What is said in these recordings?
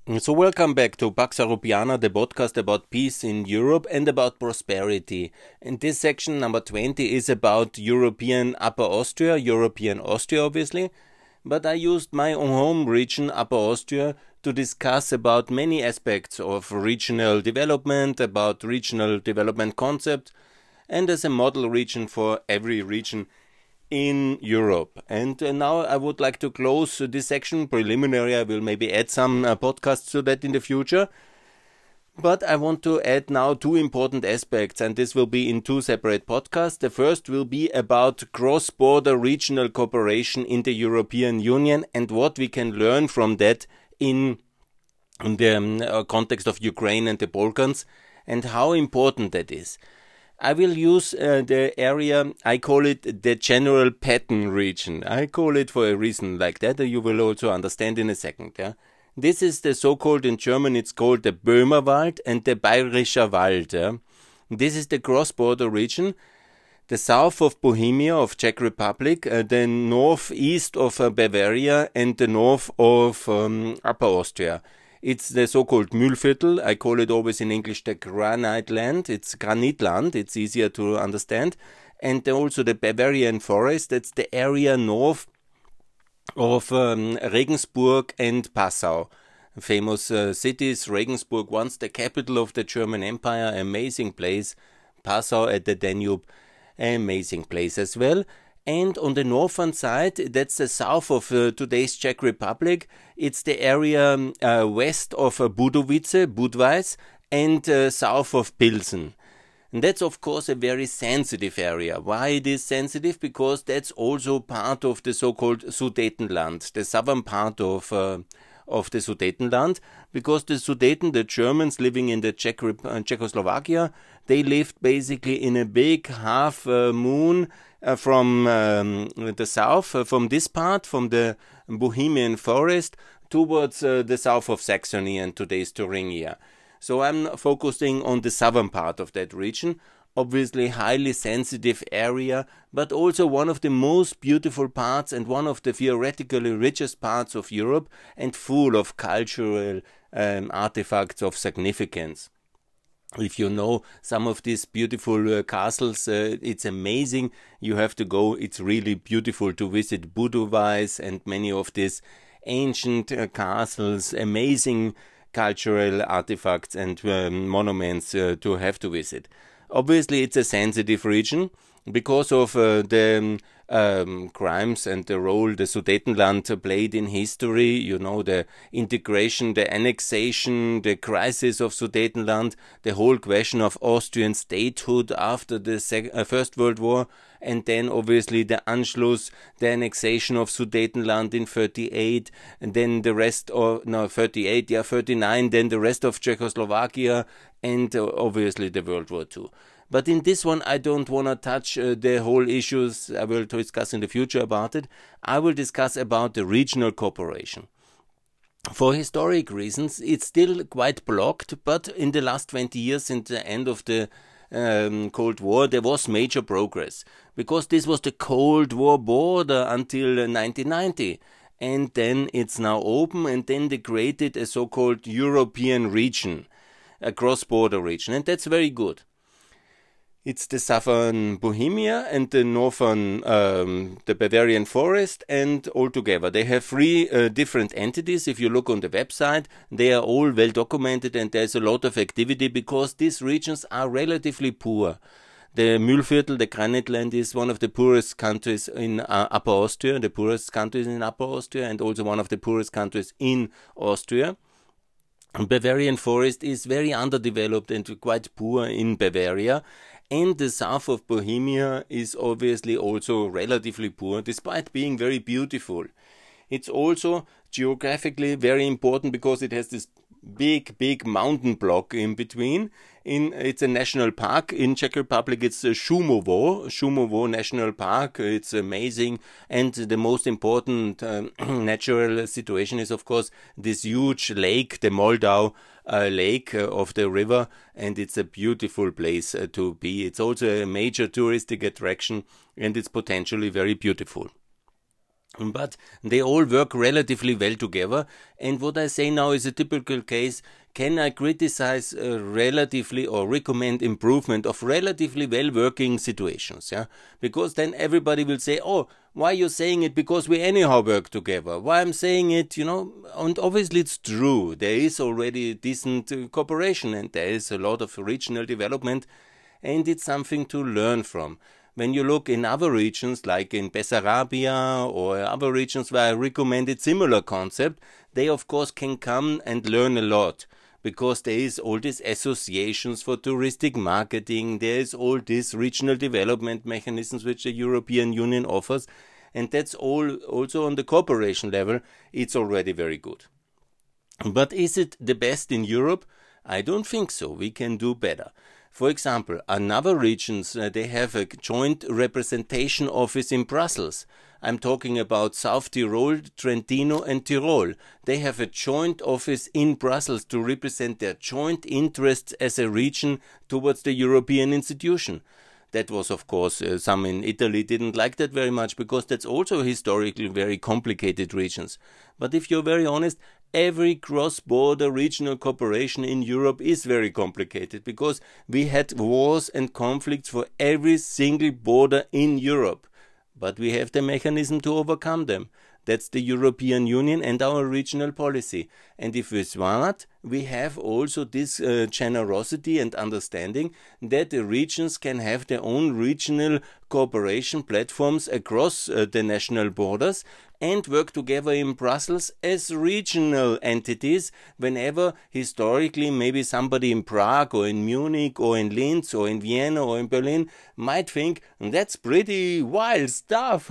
So welcome back to Pax Europiana, the podcast about peace in Europe and about prosperity. And this section number 20 is about European Upper Austria, European Austria obviously, but I used my own home region, Upper Austria, to discuss about many aspects of regional development, about regional development concepts, and as a model region for every region in Europe. And now I would like to close this section preliminary. I will maybe add some podcasts to that in the future. But I want to add now two important aspects, and this will be in two separate podcasts. The first will be about cross-border regional cooperation in the European Union and what we can learn from that in the context of Ukraine and the Balkans and how important that is. I will use the area, I call it the general pattern region. I call it for a reason like that you will also understand in a second. Yeah? This is the so-called, in German it's called the Böhmerwald and the Bayerischer Wald. Yeah? This is the cross-border region, the south of Bohemia, of Czech Republic, the northeast of Bavaria and the north of Upper Austria. It's the so-called Mühlviertel. I call it always in English the Granite Land. It's Granitland. It's easier to understand. And also the Bavarian Forest. That's the area north of Regensburg and Passau. Famous cities. Regensburg, once the capital of the German Empire. Amazing place. Passau at the Danube. Amazing place as well. And on the northern side, that's the south of today's Czech Republic. It's the area west of Budweis, and south of Pilsen. And that's, of course, a very sensitive area. Why it is sensitive? Because that's also part of the so-called Sudetenland, the southern part of the Sudetenland, because the Sudeten, the Germans living in the Czechoslovakia, they lived basically in a big half moon from the south, from this part, from the Bohemian forest, towards the south of Saxony and today's Thuringia. So I'm focusing on the southern part of that region, obviously highly sensitive area, but also one of the most beautiful parts and one of the theoretically richest parts of Europe and full of cultural artifacts of significance. If you know some of these beautiful castles, it's amazing. You have to go. It's really beautiful to visit Budweis and many of these ancient castles, amazing cultural artifacts and monuments to have to visit. Obviously, it's a sensitive region because of the crimes and the role the Sudetenland played in history. You know, the integration, the annexation, the crisis of Sudetenland, the whole question of Austrian statehood after the First World War, and then obviously the Anschluss, the annexation of Sudetenland in 38, and then the rest of, 39, then the rest of Czechoslovakia, and obviously the World War II. But in this one, I don't want to touch the whole issues. I will discuss in the future about it. I will discuss about the regional cooperation. For historic reasons, it's still quite blocked, but in the last 20 years, since the end of the Cold War, there was major progress, because this was the Cold War border until 1990. And then it's now open, and then they created a so-called European region, a cross-border region, and that's very good. It's the southern Bohemia and the northern, the Bavarian forest, and all together. They have three different entities. If you look on the website, they are all well documented and there's a lot of activity because these regions are relatively poor. The Mühlviertel, the Granite Land, is one of the poorest countries in Upper Austria, the poorest countries in Upper Austria, and also one of the poorest countries in Austria. Bavarian forest is very underdeveloped and quite poor in Bavaria. And the south of Bohemia is obviously also relatively poor, despite being very beautiful. It's also geographically very important because it has this big mountain block in between. It's a national park. In Czech Republic, it's Šumovo National Park. It's amazing. And the most important natural situation is, of course, this huge lake, the Moldau lake of the river. And it's a beautiful place to be. It's also a major touristic attraction and it's potentially very beautiful. But they all work relatively well together. And what I say now is a typical case. Can I criticize relatively or recommend improvement of relatively well-working situations? Yeah, because then everybody will say, "Oh, why are you saying it? Because we anyhow work together. Why I'm saying it, And obviously it's true. There is already decent cooperation, and there is a lot of regional development, and it's something to learn from. When you look in other regions, like in Bessarabia or other regions where I recommended similar concept, they of course can come and learn a lot. Because there is all these associations for touristic marketing, there is all these regional development mechanisms which the European Union offers, and that's all also on the cooperation level, it's already very good. But is it the best in Europe? I don't think so. We can do better. For example, another regions, they have a joint representation office in Brussels. I'm talking about South Tyrol, Trentino and Tyrol. They have a joint office in Brussels to represent their joint interests as a region towards the European institution. That was, of course, some in Italy didn't like that very much because that's also historically very complicated regions. But if you're very honest, every cross-border regional cooperation in Europe is very complicated because we had wars and conflicts for every single border in Europe. But we have the mechanism to overcome them. That's the European Union and our regional policy. And if we smart, we have also this generosity and understanding that the regions can have their own regional cooperation platforms across the national borders and work together in Brussels as regional entities whenever historically maybe somebody in Prague or in Munich or in Linz or in Vienna or in Berlin might think that's pretty wild stuff.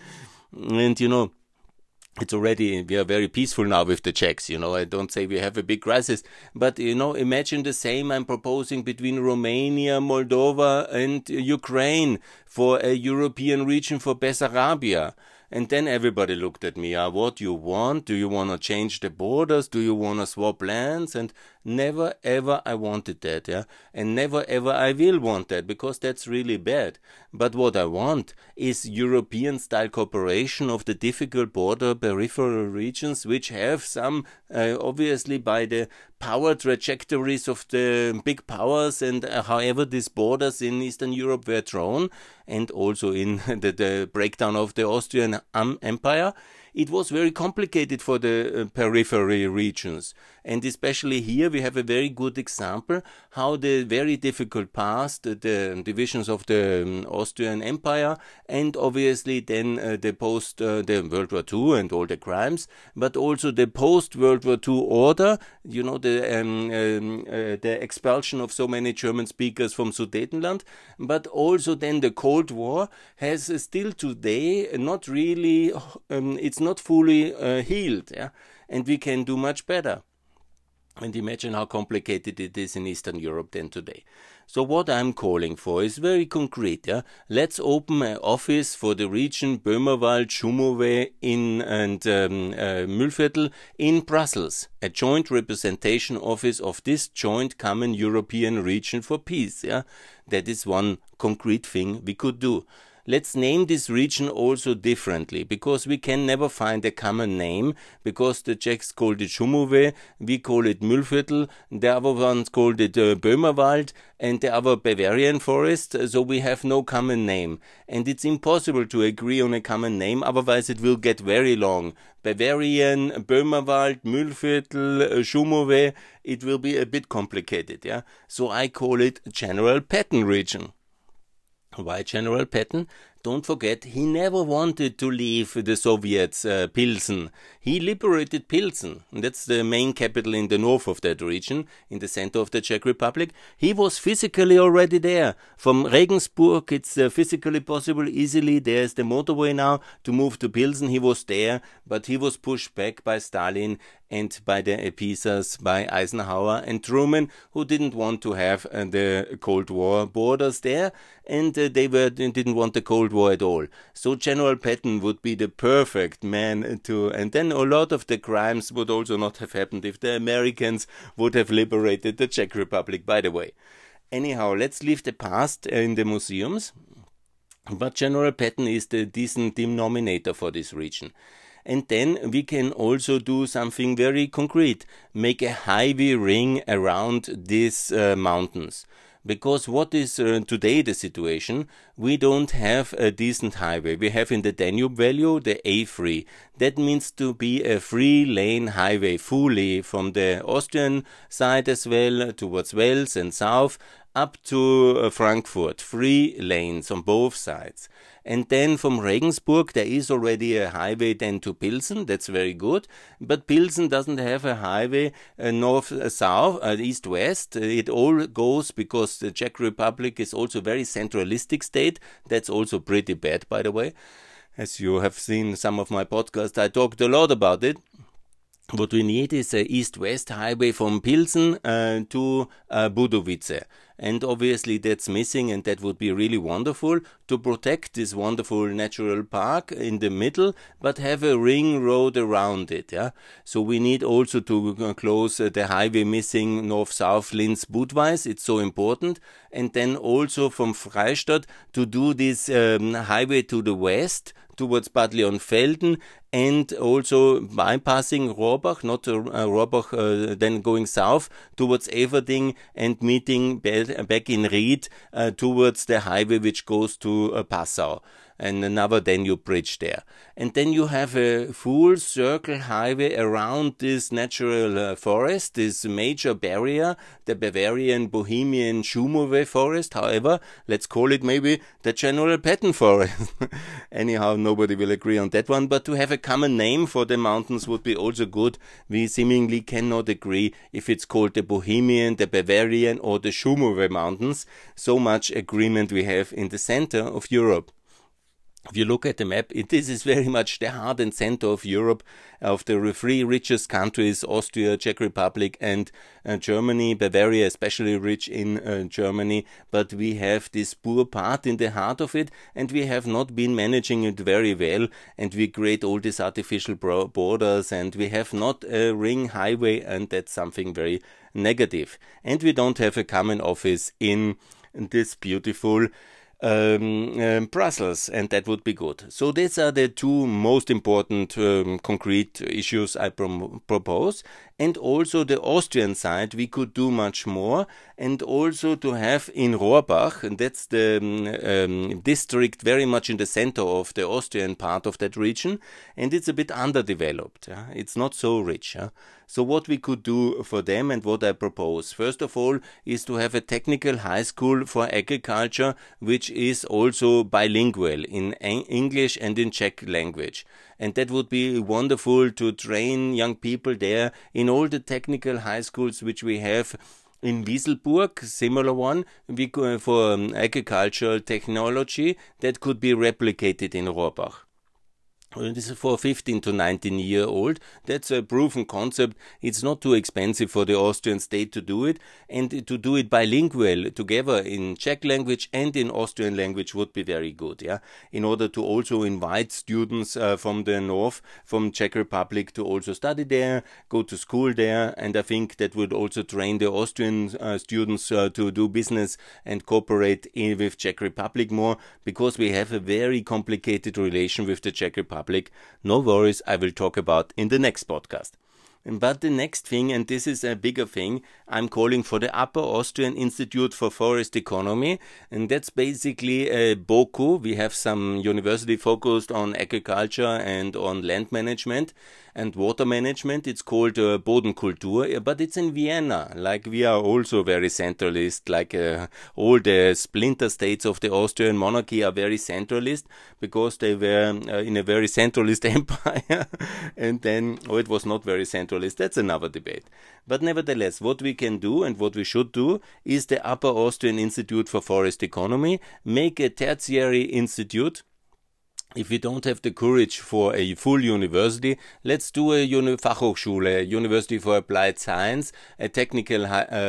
And it's already, we are very peaceful now with the Czechs, I don't say we have a big crisis, but, imagine the same I'm proposing between Romania, Moldova and Ukraine for a European region for Bessarabia. And then everybody looked at me, what do you want? Do you want to change the borders? Do you want to swap lands? And never ever I wanted that, yeah? And never ever I will want that, because that's really bad. But what I want is European-style cooperation of the difficult border peripheral regions, which have some, obviously by the power trajectories of the big powers and however these borders in Eastern Europe were drawn, and also in the breakdown of the Austrian Empire, it was very complicated for the periphery regions. And especially here we have a very good example how the very difficult past, the divisions of the Austrian Empire, and obviously then the post the World War II and all the crimes, but also the post-World War II order, the expulsion of so many German speakers from Sudetenland, but also then the Cold War has still today not really, it's not fully healed, yeah? And we can do much better. And imagine how complicated it is in Eastern Europe than today. So what I'm calling for is very concrete. Yeah? Let's open an office for the region Böhmerwald, Schumowé and Mühlviertel in Brussels. A joint representation office of this joint common European region for peace. Yeah? That is one concrete thing we could do. Let's name this region also differently, because we can never find a common name, because the Czechs called it Schumowé, we call it Mühlviertel, the other ones called it Böhmerwald, and the other Bavarian forest, so we have no common name. And it's impossible to agree on a common name, otherwise it will get very long. Bavarian, Böhmerwald, Mühlviertel, Schumowé, it will be a bit complicated, yeah? So I call it General Patton region. Why General Patton? Don't forget, he never wanted to leave the Soviets, Pilsen. He liberated Pilsen. That's the main capital in the north of that region, in the center of the Czech Republic. He was physically already there. From Regensburg, it's physically possible easily. There's the motorway now to move to Pilsen. He was there, but he was pushed back by Stalin and by the appeasers, by Eisenhower and Truman, who didn't want to have the Cold War borders there, and they didn't want the Cold War at all. So General Patton would be the perfect man to, and then a lot of the crimes would also not have happened if the Americans would have liberated the Czech Republic, by the way. Anyhow, let's leave the past in the museums. But general pattern is the decent denominator for this region. And then we can also do something very concrete, make a highway ring around these mountains. Because what is today the situation? We don't have a decent highway. We have in the Danube Valley the A3. That means to be a 3-lane highway fully from the Austrian side as well towards Wales and south up to Frankfurt. 3 lanes on both sides. And then from Regensburg there is already a highway then to Pilsen. That's very good. But Pilsen doesn't have a highway north-south, east-west. It all goes because the Czech Republic is also a very centralistic state. That's also pretty bad, by the way. As you have seen some of my podcasts, I talked a lot about it. What we need is a east-west highway from Pilsen to Budovice. And obviously that's missing, and that would be really wonderful to protect this wonderful natural park in the middle, but have a ring road around it. Yeah. So we need also to close the highway missing north-south Linz-Budweis. It's so important. And then also from Freistadt to do this highway to the west towards Bad Leonfelden, and also bypassing Rohrbach, not Rohrbach, then going south towards Everding and meeting back in Ried towards the highway which goes to Passau, and another Danube bridge there. And then you have a full circle highway around this natural forest, this major barrier, the Bavarian Bohemian Schumove forest. However, let's call it maybe the general pattern forest. Anyhow, nobody will agree on that one, but to have a common name for the mountains would be also good. We seemingly cannot agree if it's called the Bohemian, the Bavarian or the Schumove mountains. So much agreement we have in the center of Europe. If you look at the map, this is very much the heart and center of Europe, of the 3 richest countries, Austria, Czech Republic and Germany. Bavaria especially rich in Germany, but we have this poor part in the heart of it, and we have not been managing it very well, and we create all these artificial borders, and we have not a ring highway, and that's something very negative. And we don't have a common office in this beautiful Brussels, and that would be good. So these are the 2 most important concrete issues I propose. And also the Austrian side, we could do much more, and also to have in Rohrbach, and that's the district very much in the center of the Austrian part of that region, and it's a bit underdeveloped. It's not so rich. So what we could do for them and what I propose, first of all, is to have a technical high school for agriculture, which is also bilingual in English and in Czech language. And that would be wonderful to train young people there in all the technical high schools which we have in Wieselburg, similar one, for agricultural technology that could be replicated in Rohrbach. This is for 15 to 19-year-old. That's a proven concept. It's not too expensive for the Austrian state to do it, and to do it bilingual together in Czech language and in Austrian language would be very good. Yeah, in order to also invite students from the north, from Czech Republic, to also study there, go to school there, and I think that would also train the Austrian students to do business and cooperate with Czech Republic more, because we have a very complicated relation with the Czech Republic. No worries, I will talk about in the next podcast. But the next thing, and this is a bigger thing, I'm calling for the Upper Austrian Institute for Forest Economy, and that's basically a BOKU. We have some university focused on agriculture and on land management and water management. It's called Bodenkultur, but it's in Vienna. Like, we are also very centralist, like all the splinter states of the Austrian monarchy are very centralist, because they were in a very centralist empire, and then, it was not very centralist. That's another debate. But nevertheless, what we can do and what we should do is the Upper Austrian Institute for Forest Economy, make a tertiary institute. If we don't have the courage for a full university, let's do a Fachhochschule, a University for Applied Science, a technical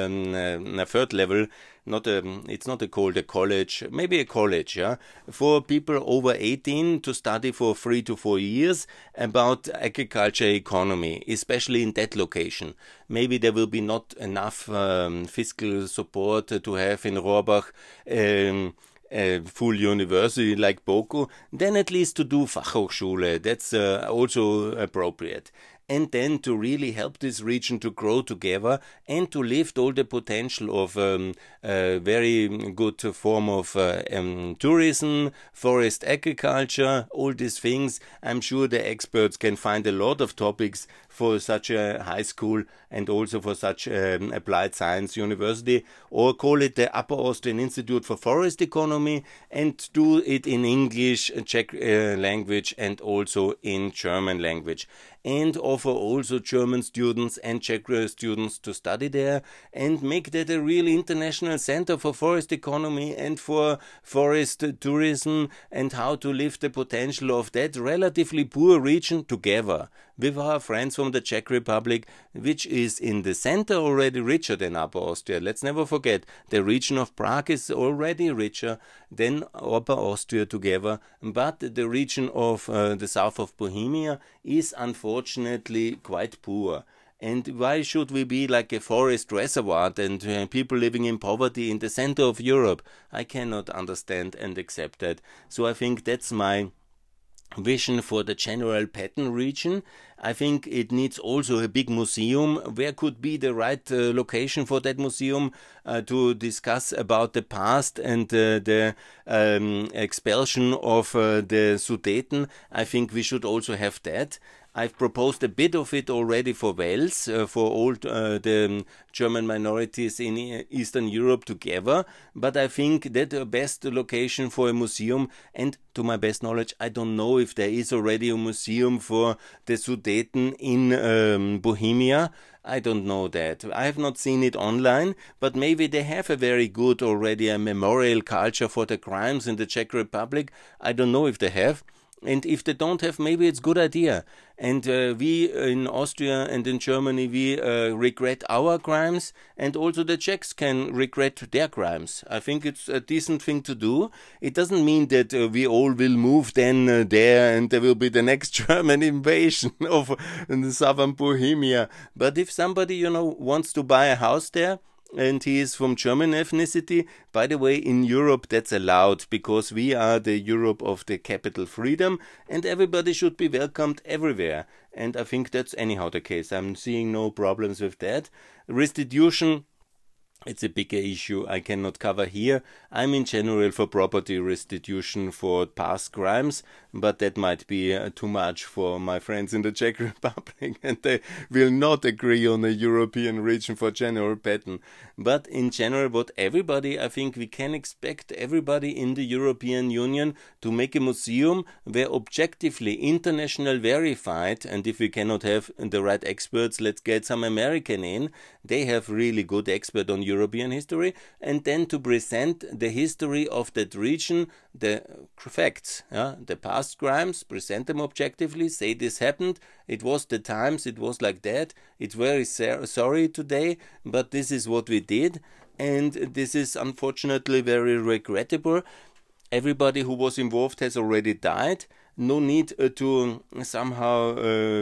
third level. It's not called a college, maybe a college, yeah, for people over 18 to study for 3 to 4 years about agriculture economy, especially in that location. Maybe there will be not enough fiscal support to have in Rohrbach a full university like Boku, then at least to do Fachhochschule. That's also appropriate. And then to really help this region to grow together and to lift all the potential of a very good form of tourism, forest agriculture, all these things. I'm sure the experts can find a lot of topics for such a high school and also for such applied science university, or call it the Upper Austrian Institute for Forest Economy, and do it in English, Czech language, and also in German language, and offer also German students and Czech students to study there, and make that a really international center for forest economy and for forest tourism, and how to lift the potential of that relatively poor region together with our friends from the Czech Republic, which is in the center already richer than Upper Austria. Let's never forget, the region of Prague is already richer than Upper Austria together, but the region of the south of Bohemia is unfortunately quite poor. And why should we be like a forest reservoir and people living in poverty in the center of Europe? I cannot understand and accept that. So I think that's my vision for the general Patton region. I think it needs also a big museum. Where could be the right location for that museum to discuss about the past and the expulsion of the Sudeten? I think we should also have that. I've proposed a bit of it already for Wales, for all the German minorities in Eastern Europe together, but I think that the best location for a museum, and to my best knowledge, I don't know if there is already a museum for the Sudeten in Bohemia. I don't know that. I have not seen it online, but maybe they have a very good already a memorial culture for the crimes in the Czech Republic. I don't know if they have. And if they don't have, maybe it's a good idea. And we in Austria and in Germany, we regret our crimes, and also the Czechs can regret their crimes. I think it's a decent thing to do. It doesn't mean that we all will move then there and there will be the next German invasion of the southern Bohemia. But if somebody, wants to buy a house there, and he is from German ethnicity. By the way, in Europe that's allowed, because we are the Europe of the capital freedom, and everybody should be welcomed everywhere. And I think that's anyhow the case. I'm seeing no problems with that. Restitution, it's a bigger issue I cannot cover here. I'm in general for property restitution for past crimes, but that might be too much for my friends in the Czech Republic, and they will not agree on a European region for general Patton. But in general, what everybody, I think we can expect everybody in the European Union to make a museum where objectively international verified, and if we cannot have the right experts, let's get some American in. They have really good expert on European history, and then to present the history of that region, the facts, the past crimes, present them objectively, say this happened, it was the times, it was like that, it's very sorry today, but this is what we did, and this is unfortunately very regrettable. Everybody who was involved has already died. No need to somehow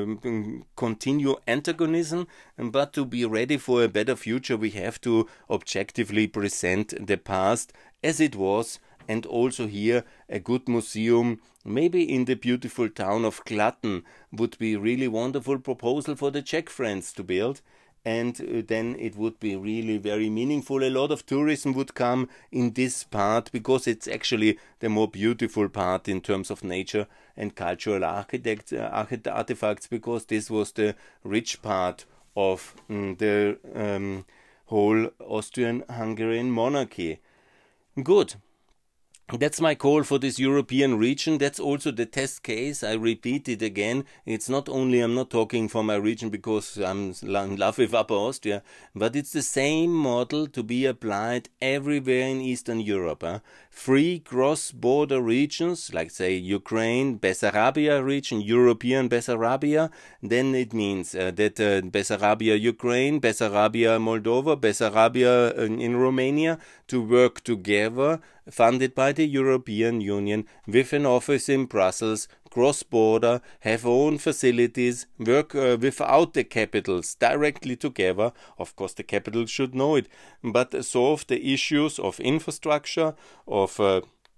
continue antagonism, but to be ready for a better future, we have to objectively present the past as it was, and also here a good museum, maybe in the beautiful town of Glatten, would be really wonderful proposal for the Czech friends to build. And then it would be really very meaningful. A lot of tourism would come in this part, because it's actually the more beautiful part in terms of nature and cultural artifacts, because this was the rich part of the whole Austrian-Hungarian monarchy. Good. That's my call for this European region. That's also the test case. I repeat it again. It's not only, I'm not talking for my region because I'm in love with Upper Austria, but it's the same model to be applied everywhere in Eastern Europe. Free cross-border regions, like say Ukraine, Bessarabia region, European Bessarabia, then it means that Bessarabia Ukraine, Bessarabia Moldova, Bessarabia in Romania, to work together, funded by the European Union, with an office in Brussels, cross-border, have own facilities, work without the capitals, directly together. Of course, the capitals should know it, but solve the issues of infrastructure, of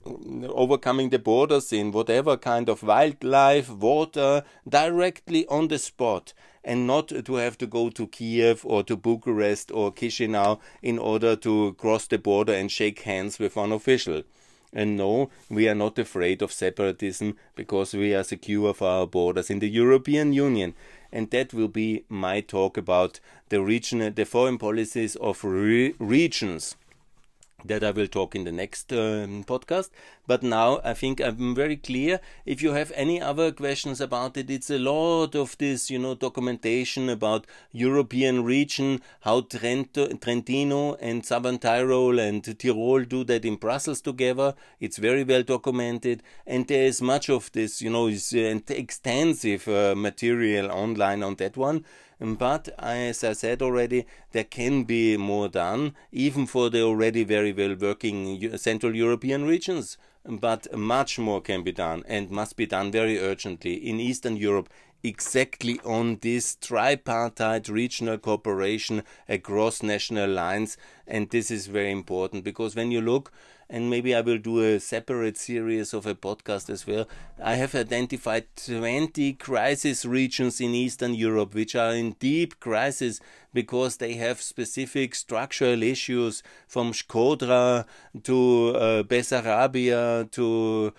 overcoming the borders in whatever kind of wildlife, water, directly on the spot, and not to have to go to Kiev or to Bucharest or Chisinau in order to cross the border and shake hands with one official. And no, we are not afraid of separatism because we are secure of our borders in the European Union. And that will be my talk about the foreign policies of regions. That I will talk in the next podcast. But now I think I'm very clear. If you have any other questions about it, it's a lot of this, documentation about European region, how Trentino and Southern Tyrol and Tyrol do that in Brussels together. It's very well documented. And there is much of this, is extensive material online on that one. But as I said already, there can be more done, even for the already very well working Central European regions. But much more can be done and must be done very urgently in Eastern Europe, exactly on this tripartite regional cooperation across national lines. And this is very important because when you look, and maybe I will do a separate series of a podcast as well, I have identified 20 crisis regions in Eastern Europe which are in deep crisis because they have specific structural issues from Shkodra to Bessarabia to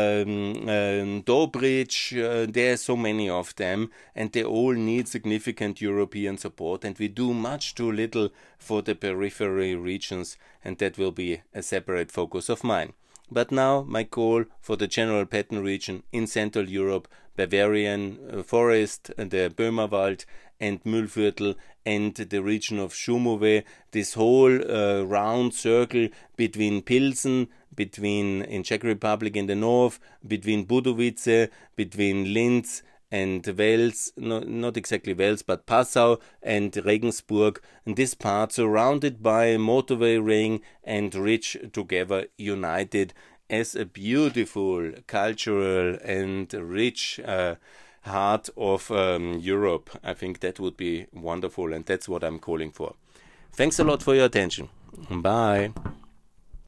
Dobrich. There are so many of them and they all need significant European support, and we do much too little for the periphery regions, and that will be a separate focus of mine. But now my call for the general pattern region in Central Europe, Bavarian forest, the Böhmerwald and Mühlviertel, and the region of Šumové, this whole round circle between Pilsen, in Czech Republic in the north, between Budovice, between Linz and Wels, not exactly Wels, but Passau and Regensburg, and this part surrounded by a motorway ring and rich together, united as a beautiful cultural and rich heart of Europe. I think that would be wonderful, and that's what I'm calling for. Thanks a lot for your attention. Bye.